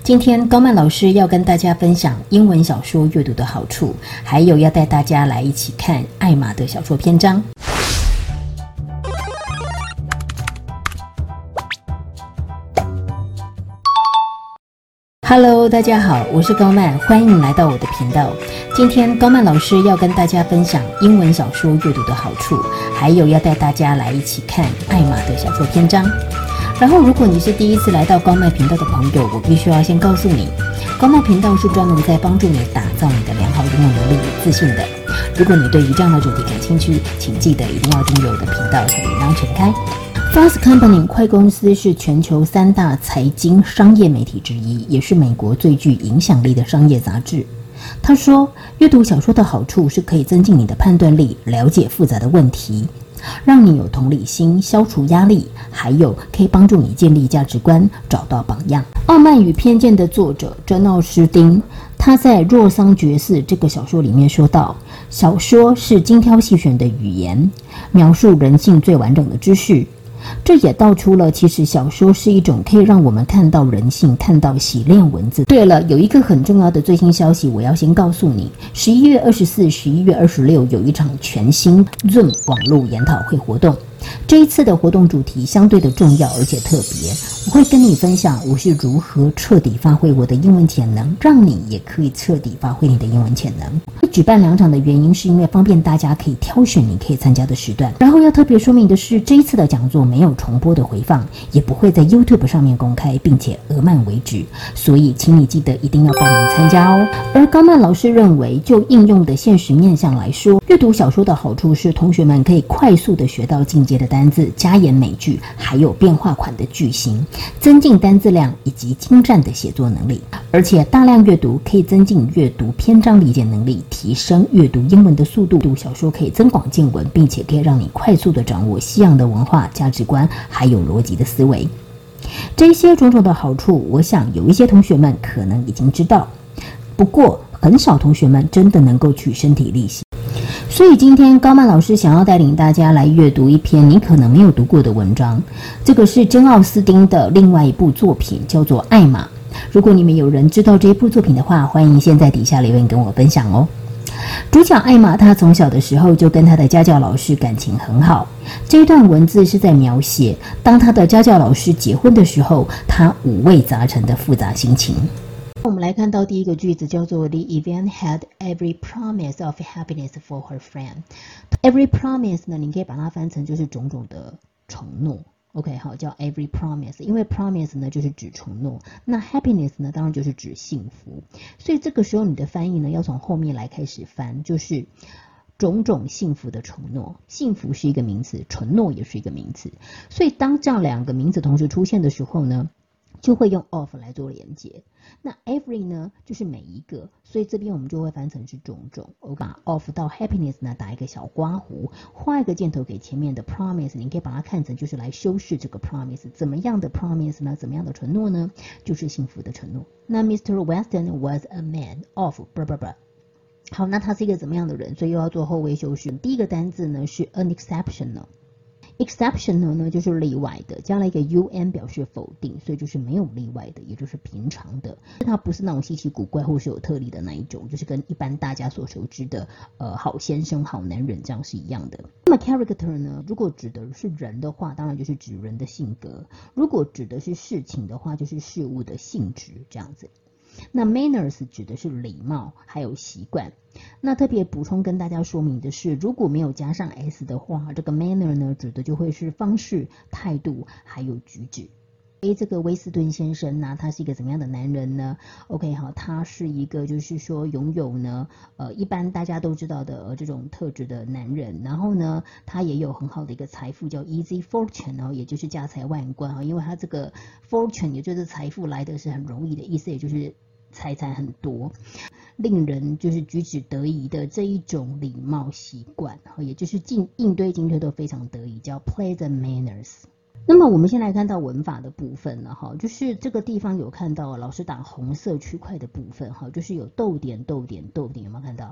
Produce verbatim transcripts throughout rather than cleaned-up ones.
今天高曼老师要跟大家分享英文小说阅读的好处，还有要带大家来一起看艾玛的小说篇章。Hello， 大家好，我是高曼，欢迎来到我的频道。今天高曼老师要跟大家分享英文小说阅读的好处，还有要带大家来一起看艾玛的小说篇章。然后如果你是第一次来到高曼频道的朋友，我必须要先告诉你，高曼频道是专门在帮助你打造你的良好英文能力与自信的。如果你对于这样的主题感兴趣，请记得一定要订阅我的频道，小铃铛全开。Fast Company 快公司是全球三大财经商业媒体之一，也是美国最具影响力的商业杂志。他说，阅读小说的好处是可以增进你的判断力，了解复杂的问题，让你有同理心，消除压力，还有可以帮助你建立价值观，找到榜样。《傲慢与偏见》的作者珍奥斯汀，他在《若桑爵士》这个小说里面说到，小说是精挑细选的语言，描述人性最完整的知识。这也道出了其实小说是一种可以让我们看到人性，看到洗练文字。对了，有一个很重要的最新消息我要先告诉你，十一月二十四、十一月二十六有一场全新 Zoom 网络研讨会活动。这一次的活动主题相对的重要而且特别，我会跟你分享我是如何彻底发挥我的英文潜能，让你也可以彻底发挥你的英文潜能。会举办两场的原因是因为方便大家可以挑选你可以参加的时段。然后要特别说明的是，这一次的讲座没有重播的回放，也不会在 YouTube 上面公开，并且额满为止，所以请你记得一定要报名参加哦。而高曼老师认为，就应用的现实面向来说，阅读小说的好处是同学们可以快速的学到进阶的单字、加言美句，还有变化款的句型，增进单字量以及精湛的写作能力。而且大量阅读可以增进阅读篇章理解能力，提升阅读英文的速度。读小说可以增广见闻，并且可以让你快速的掌握西洋的文化、价值观，还有逻辑的思维。这些种种的好处，我想有一些同学们可能已经知道，不过很少同学们真的能够去身体力行。所以今天高曼老师想要带领大家来阅读一篇你可能没有读过的文章，这个是珍奥斯汀的另外一部作品，叫做《艾玛》。如果你们有人知道这一部作品的话，欢迎现在底下留言跟我分享哦。主角艾玛，她从小的时候就跟她的家教老师感情很好。这一段文字是在描写当她的家教老师结婚的时候，她五味杂陈的复杂心情。我们来看到第一个句子，叫做 The event had every promise of happiness for her friend。 Every promise 呢，你可以把它翻成就是种种的承诺。OK， 好，叫 every promise， 因为 promise 呢就是指承诺，那 happiness 呢当然就是指幸福，所以这个时候你的翻译呢要从后面来开始翻，就是种种幸福的承诺。幸福是一个名词，承诺也是一个名词，所以当这样两个名词同时出现的时候呢，就会用 of 来做连结。那 every 呢就是每一个，所以这边我们就会翻成是种种。我把 of 到 happiness 呢打一个小刮胡，画一个箭头给前面的 promise， 你可以把它看成就是来修饰这个 promise。 怎么样的 promise 呢？怎么样的承诺呢？就是幸福的承诺。那 Mister Weston was a man of blah blah blah。 好，那他是一个怎么样的人？所以又要做后位修饰。第一个单字呢是 unexceptional。Exceptional 呢就是例外的，加了一个 un 表示否定，所以就是没有例外的，也就是平常的。它不是那种稀奇古怪或是有特例的那一种，就是跟一般大家所熟知的呃好先生、好男人这样是一样的。那么 character 呢，如果指的是人的话，当然就是指人的性格；如果指的是事情的话，就是事物的性质这样子。那 manners 指的是礼貌还有习惯。那特别补充跟大家说明的是，如果没有加上 s 的话，这个 manner 呢指的就会是方式、态度还有举止。诶，这个威斯顿先生呢，他是一个怎么样的男人呢？ OK， 好，他是一个就是说拥有呢呃一般大家都知道的、呃、这种特质的男人，然后呢他也有很好的一个财富叫 easy fortune， 哦，也就是家财万贯，哦，因为他这个 fortune 也就是财富来的是很容易的意思，也就是财产很多，令人就是举止得宜的这一种礼貌习惯，也就是进应对进退都非常得宜，叫 pleasant manners。那么我们先来看到文法的部分了哈，就是这个地方有看到老师打红色区块的部分哈，就是有逗点逗点逗点，有没有看到？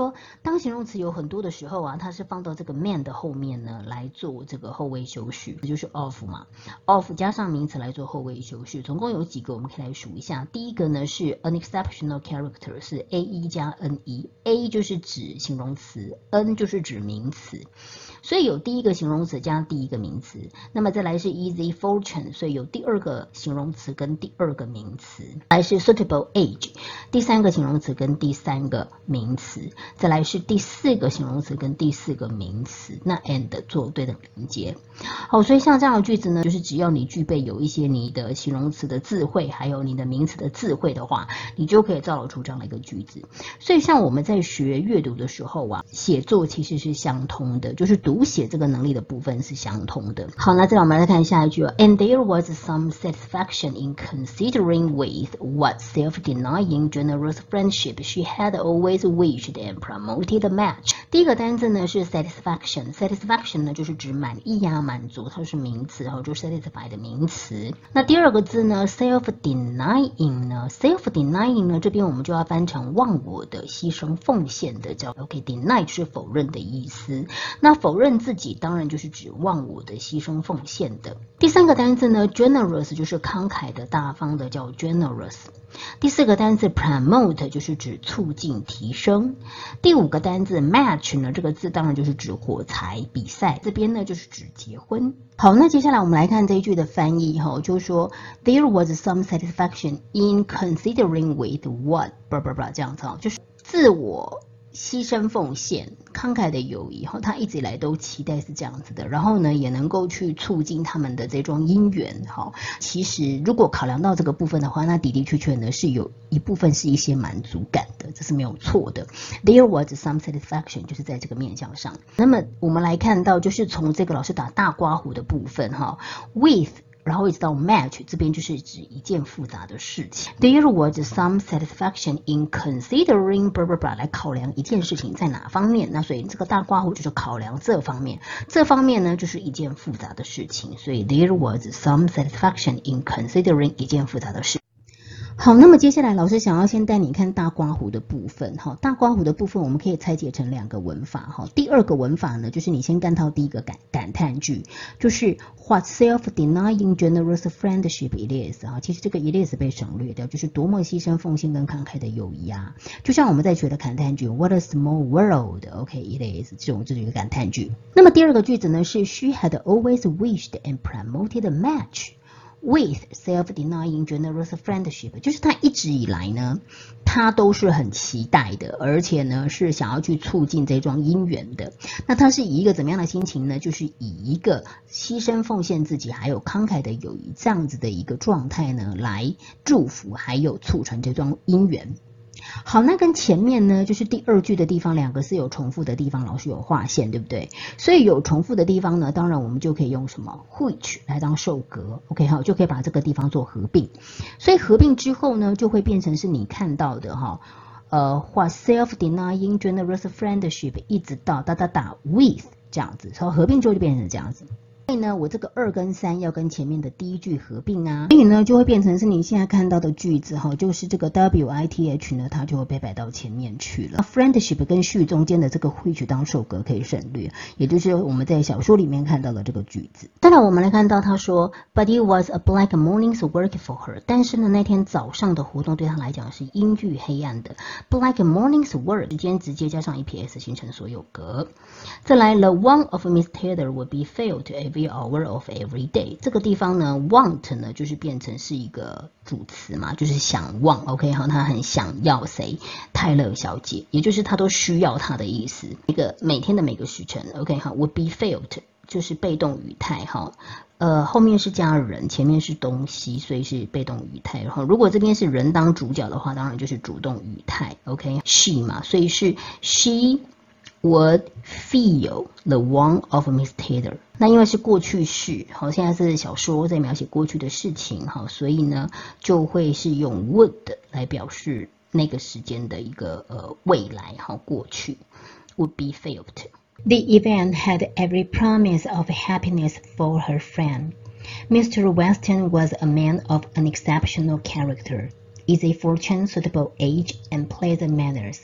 说当形容词有很多的时候啊，它是放到这个 man 的后面呢来做这个后位修饰，这就是 of 嘛 of 加上名词来做后位修饰，总共有几个我们可以来数一下。第一个呢是 an exceptional character， 是 a 一 加 n 一， a 就是指形容词， n 就是指名词，所以有第一个形容词加第一个名词。那么再来是 easy fortune， 所以有第二个形容词跟第二个名词。来是 suitable age， 第三个形容词跟第三个名词。再来是第四个形容词跟第四个名词，那 and 做对等连接。好，所以像这样的句子呢，就是只要你具备有一些你的形容词的字汇，还有你的名词的字汇的话，你就可以造出这样的一个句子。所以像我们在学阅读的时候啊，写作其实是相通的，就是读写这个能力的部分是相通的。好，那再来我们来看下一句 And there was some satisfaction in considering with what self-denying generous friendship she had always wished and promoted the match。 第一个单字呢是 satisfaction， satisfaction 呢就是指满意呀、满足，它是名词，然后就 satisfy 的名词。那第二个字呢 self-denying 呢 self-denying 呢这边我们就要翻成忘我的、牺牲奉献的，叫 OK deny 就是否认的意思。那否认自己当然就是指忘我的、牺牲奉献的。第三个单字呢 generous 就是慷慨的、大方的，叫 generous。第四个单字 promote 就是指促进、提升。第五个单字 match 呢，这个字当然就是指火柴、比赛，这边呢就是指结婚。好，那接下来我们来看这一句的翻译哈，就是说 there was some satisfaction in considering with what blah blah blah 这样子哈，就是自我牺牲奉献、慷慨的友谊，他一直以来都期待是这样子的，然后呢，也能够去促进他们的这种姻缘。哈，其实如果考量到这个部分的话，那的的确确呢是有一部分是一些满足感的，这是没有错的。There was some satisfaction， 就是在这个面向上。那么我们来看到，就是从这个老师打大括弧的部分，哈 ，with。然后一直到 match 这边就是指一件复杂的事情。There was some satisfaction in considering blah blah blah 来考量一件事情在哪方面，那所以这个大括弧就是考量这方面，这方面呢就是一件复杂的事情，所以 there was some satisfaction in considering 一件复杂的事。好，那么接下来老师想要先带你看大括弧的部分哈，大括弧的部分我们可以拆解成两个文法哈。第二个文法呢，就是你先看到第一个感感叹句，就是 What self-denying generous friendship it is 哈，其实这个 it is 被省略掉，就是多么牺牲奉献跟慷慨的友谊啊。就像我们在学的感叹句 What a small world，OK it is 这种这种一个感叹句。那么第二个句子呢是 She had always wished and promoted a match。With self-denying generous friendship， 就是他一直以来呢，他都是很期待的，而且呢是想要去促进这桩姻缘的。那他是以一个怎么样的心情呢？就是以一个牺牲奉献自己，还有慷慨的友谊这样子的一个状态呢，来祝福还有促成这桩姻缘。好，那跟前面呢，就是第二句的地方，两个是有重复的地方，老师有划线，对不对？所以有重复的地方呢，当然我们就可以用什么 which 来当受格 ，OK 好，就可以把这个地方做合并。所以合并之后呢，就会变成是你看到的哈，呃，画 self-denying generous friendship 一直到哒哒哒 with 这样子，然后合并之后就变成这样子。所以呢，我这个二跟三要跟前面的第一句合并啊，所以呢就会变成是你现在看到的句子哈，就是这个 W I T H 呢，它就会被摆到前面去了。friendship 跟序中间的这个 which 当受格可以省略，也就是我们在小说里面看到的这个句子。当然我们来看到他说 ，But it was a black morning's work for her。但是呢，那天早上的活动对他来讲是阴郁黑暗的。Black morning's work 时间直接加上 E P S 形成所有格。再来 ，The want of Miss Taylor would be felt every hour of every day。这个地方呢 ，want 呢就是变成是一个主词嘛，就是想望 ，OK 好，他很想要谁？泰勒小姐，也就是他都需要她的意思。一个每天的每个时辰 ，OK 好 ，would be felt 就是被动语态哈。呃，后面是加人，前面是东西，所以是被动语态。然后，如果这边是人当主角的话，当然就是主动语态 ，OK，she 嘛，所以是 she would feel the want of Miss Taylor。那因为是过去式，好，现在是小说在描写过去的事情，好，所以呢就会是用 would 来表示那个时间的一个呃未来，好，过去 would be felt。The event had every promise of happiness for her friend. Mister Weston was a man of an exceptional character, easy fortune, suitable age, and pleasant manners.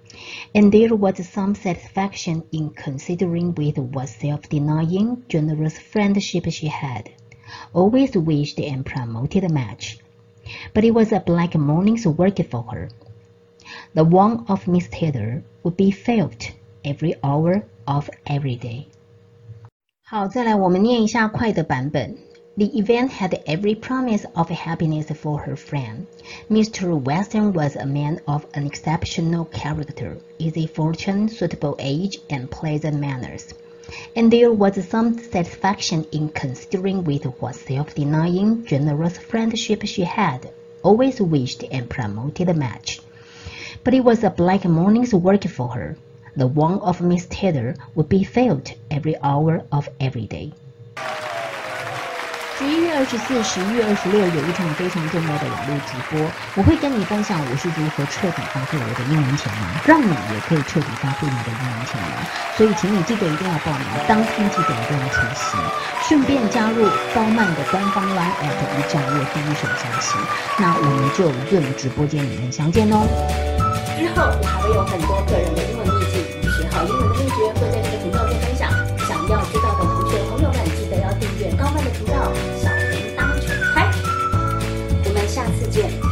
And there was some satisfaction in considering with what self-denying, generous friendship she had. Always wished and promoted a match. But it was a black morning's work for her. The warmth of Miss Taylor would be felt every hour of every day. 好，再来我们念一下快的版本。The event had every promise of happiness for her friend. Mister Weston was a man of an exceptional character, easy fortune, suitable age, and pleasant manners. And there was some satisfaction in considering with what self-denying, generous friendship she had, always wished and promoted a match. But it was a black morning's work for her. The warmth of Miss Taylor would be felt every hour of every day. 十一月二十四、十一月二十六有一场非常重要的网络直播，我会跟你分享我是如何彻底发挥我的英文潜能，让你也可以彻底发挥你的英文潜能。所以，请你记得一定要报名，当天记得一定要出席，顺便加入高曼的官方 Line App 以掌握第一手消息。那我们就 Zoom 直播间里面相见哦。之后我还会有很多个人的英文秘籍与学好英文的秘诀会在这个频道中分享，想要知道的同学朋友们记得要订阅高曼的频道，小铃铛全开。我们下次见。